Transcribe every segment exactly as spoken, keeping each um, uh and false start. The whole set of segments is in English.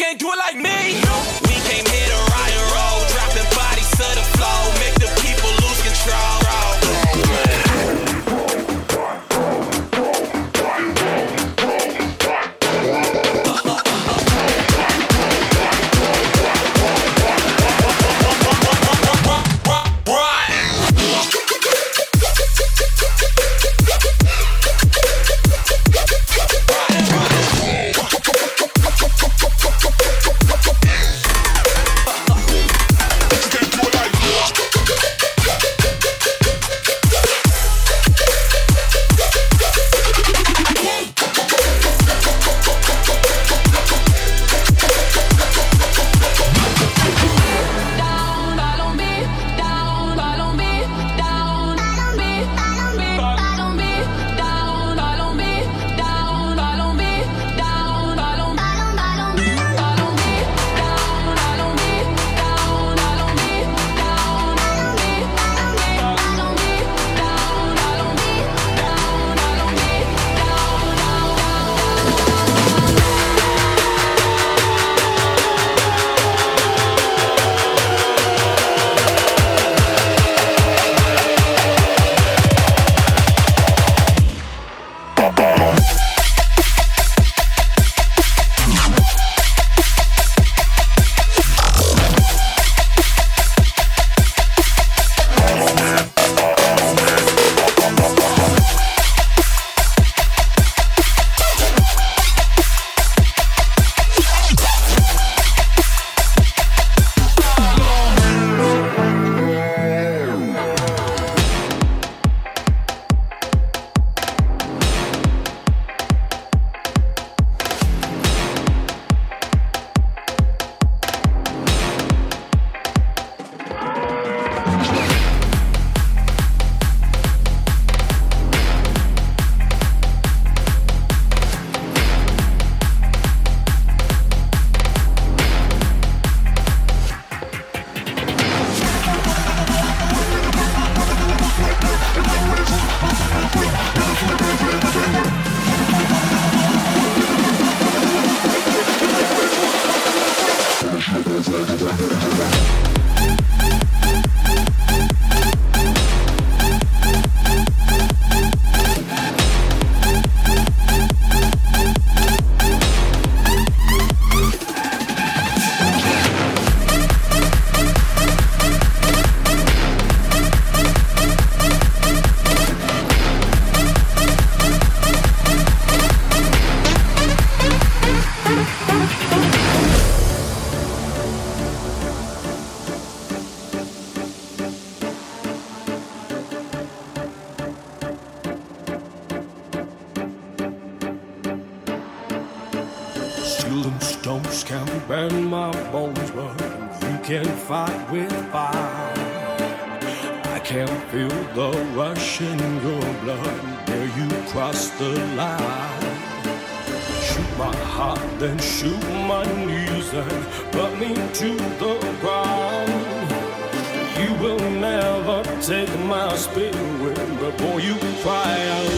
can't do it like me. We came here to rock and roll, dropping bodies to the floor, make the people lose control. Then shoot my knees and put me to the ground. You will never take my spirit before you cry out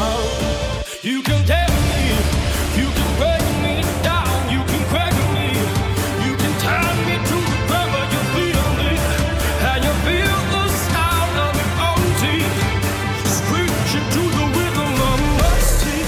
loud. You can tell me, you can break me down, you can crack me, you can tie me to the ground, but you feel me, and you feel the sound of your own teeth screeching to the rhythm of my teeth.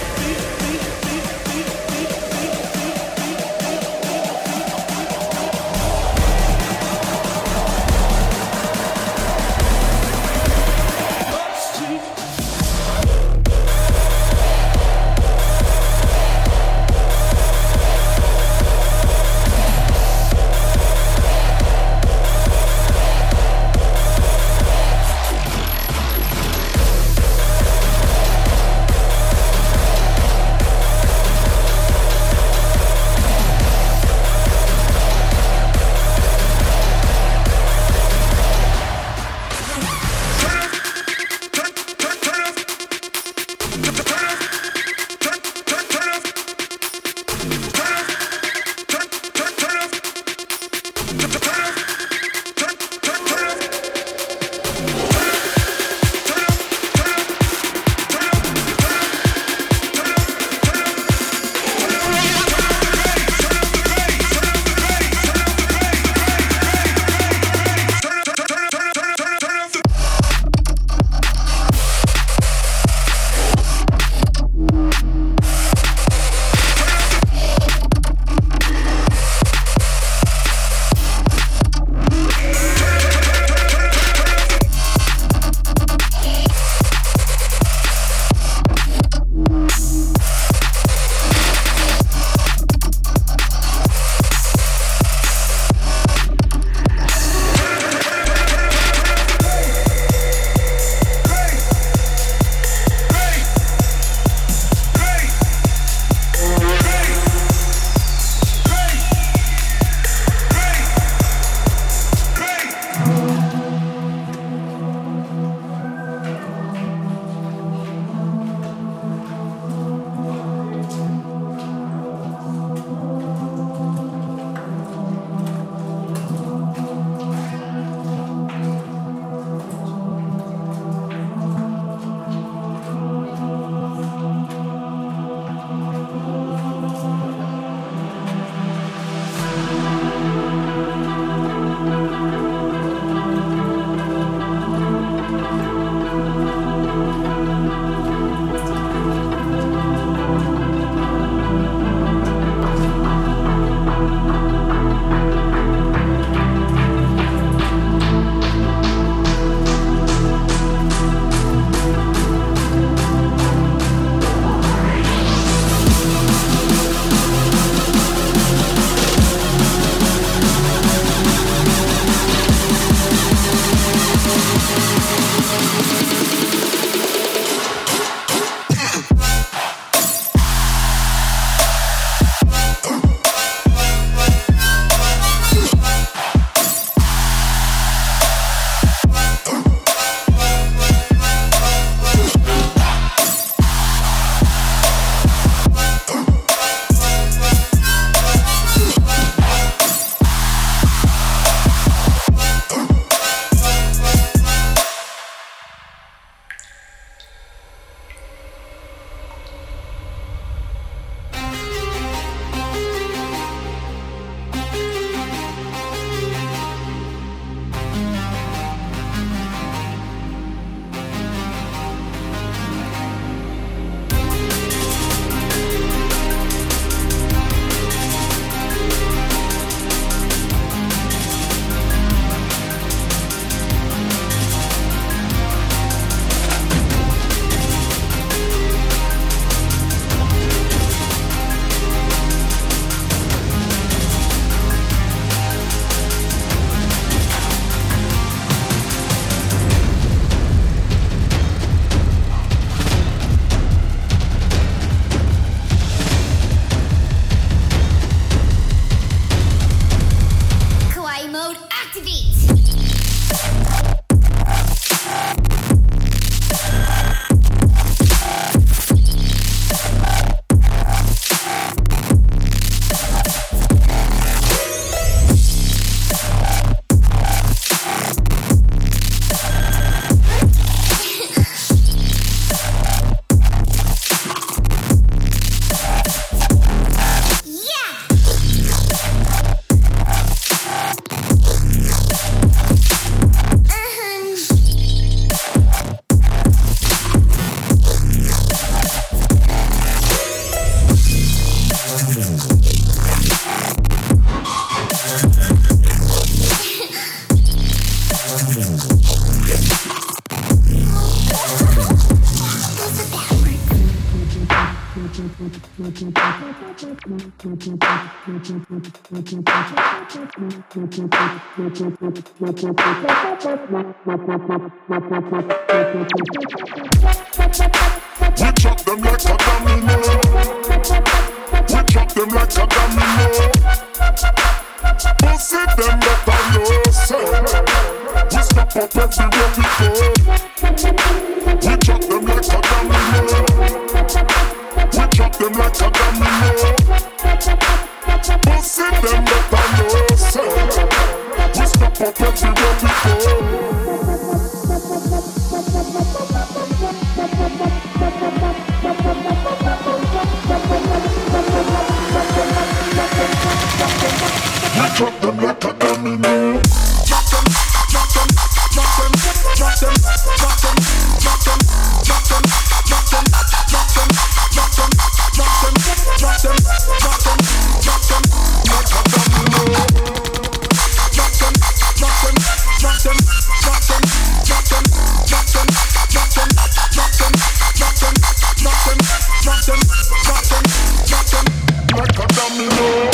chop them like a domino. We chop them like a domino. Pussy them up on yourself. We step up everywhere we go. We chop them like a domino. We chop them like a domino. Pussy them up on yourself. We step up everywhere we go. We drop them like a domino. Drop them, drop them, drop them, drop them, drop them, drop them, drop them, drop them, drop them, drop them, drop them, drop them, drop them, drop them like a domino. Drop them, drop them, drop them, drop them, drop them, drop them, drop them, drop them, drop them, drop them, drop them, drop them, drop them like a domino.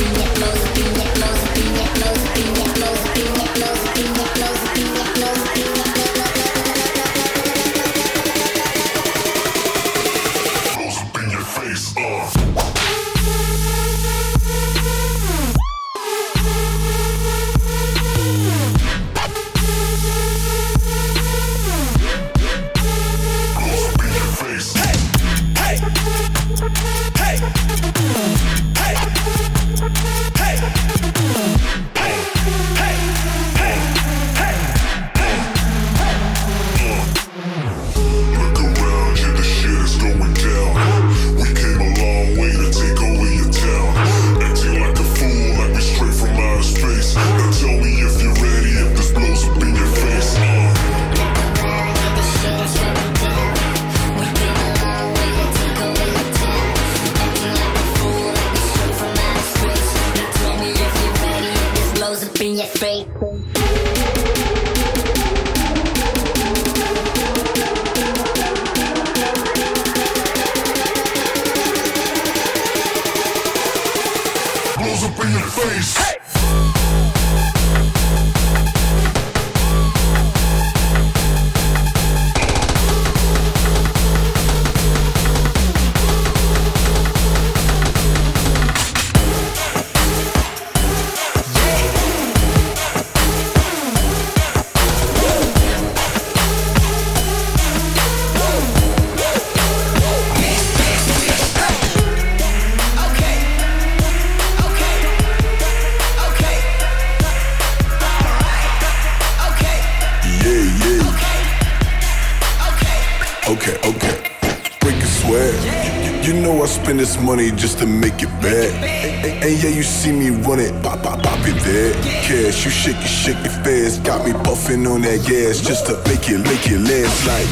Spend this money just to make it back. And, and yeah, you see me run it, pop, pop, pop it there. Cash, you shake it, shake it fast. Got me puffing on that gas just to make it, make it last like.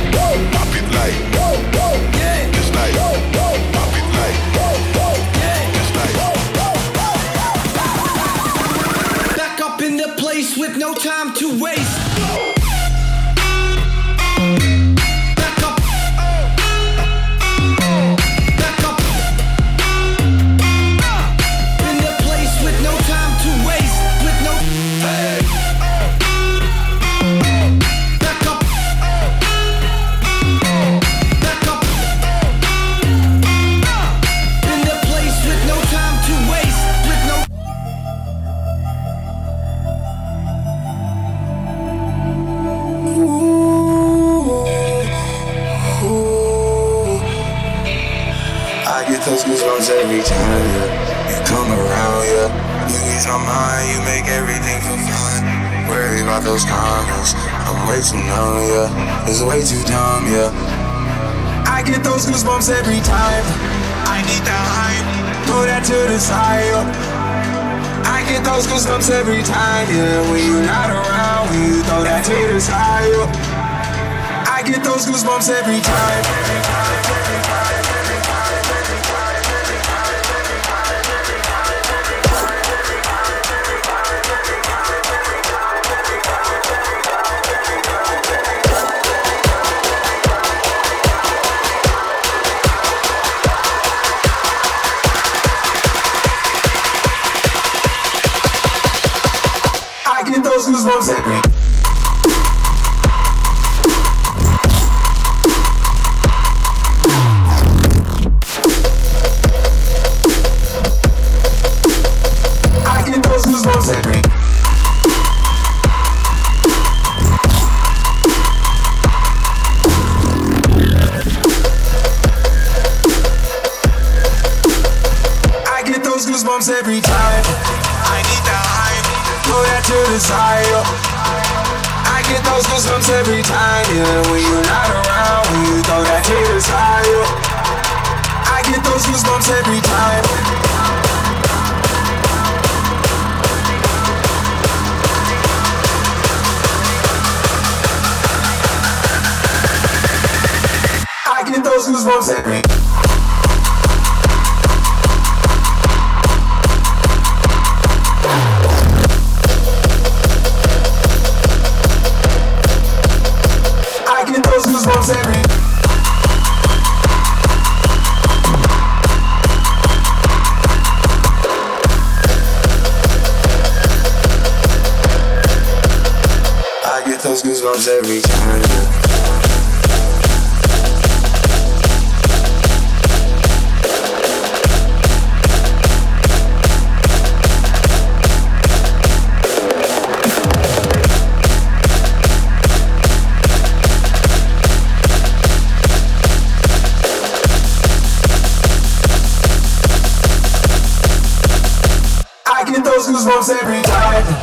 Pop it like. Just like. Pop it like. Just like. Back up in the place with no time to waste. Those goosebumps every time, yeah. You come around, yeah. You ease my mind, you make everything feel fine. Worry about those comments, I'm way too numb, yeah. It's way too dumb, yeah. I get those goosebumps every time. I need that hype, throw that to the side, yeah. I get those goosebumps every time, yeah. When you're not around, when you throw that to the side, yeah. I get those goosebumps every time. I get those goosebumps every I get those goosebumps every I get those goosebumps every time. I need that hype, throw that to the side. I get those goosebumps every time, yeah. When you're not around, when you throw that to the side. I get those goosebumps every time. I get those goosebumps every time. I get those goosebumps every I get those goosebumps every time. I get those goosebumps every time.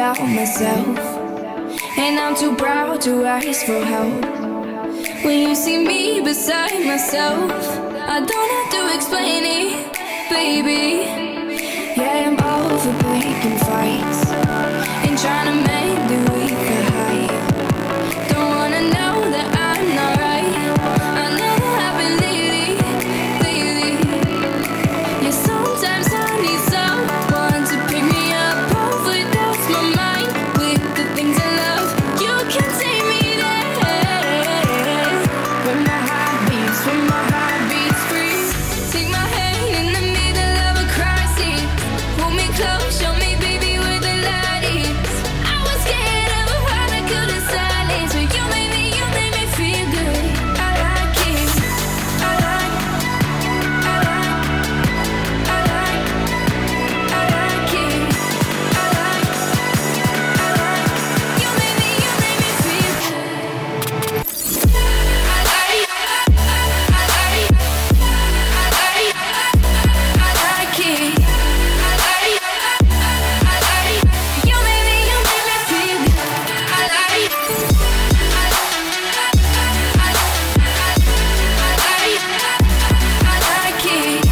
about myself, and I'm too proud to ask for help. When you see me beside myself, I don't have to explain it, baby. Yeah, I'm all for picking fights and trying to make the weak hide. Don't wanna know that I'm not right. I know that I've been lately, lately. Yeah, sometimes I need someone to pick me up, overdose my mind with the things I love. You can take me there, when my heart beats, when my heart beats free. Take my hand in the middle of a crisis, pull me close, show me baby where the light is. I was scared of what I couldn't silence, but you made me, you made me feel good. I like it, I like, I like, I like, I like it, I like, I like. You made me, you made me feel good. I like, I like, I like, I like it. I like, I like. You made me, you made me feel good. I like, I like, I like, I like it.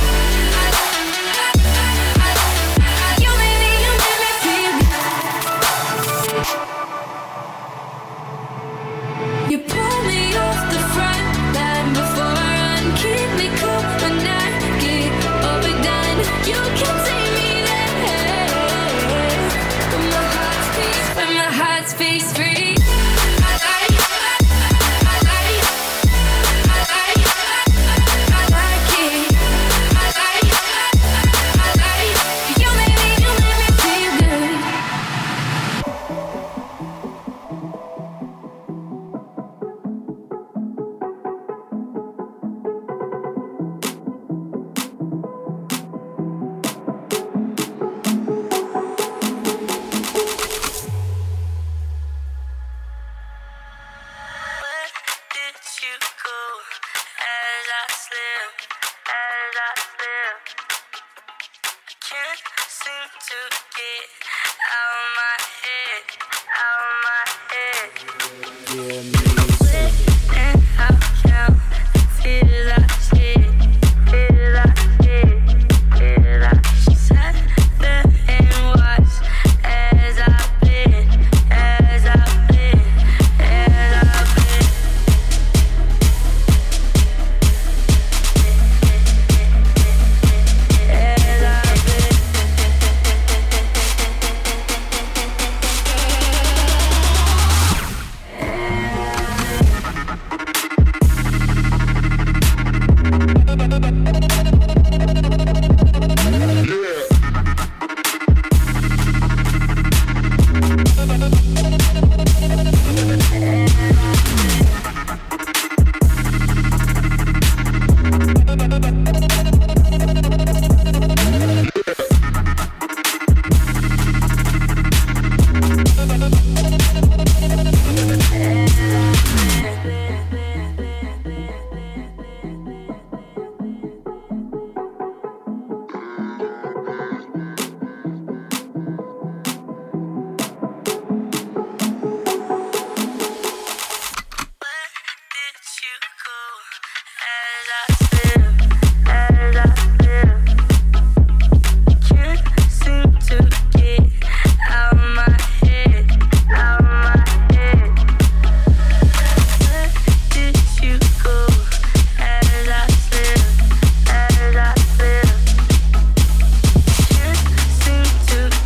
You made me, you made me feel good. You pull me off the front line before I run, keep me cool when I get overdone. You can take me there, when my heart speaks, when my heart speaks free. I like, I like, I like, I like it. I like, I like. You made me, you made me feel good. Where did you go as I slip, as I slip? I can't seem to get out of my head, out of my head. And how can feel like shit, feel like shit, feel like shit. Sat there and watched as I've been, as I've been, as I've been. As I've been.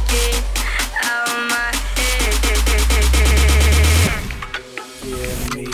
Yeah, me.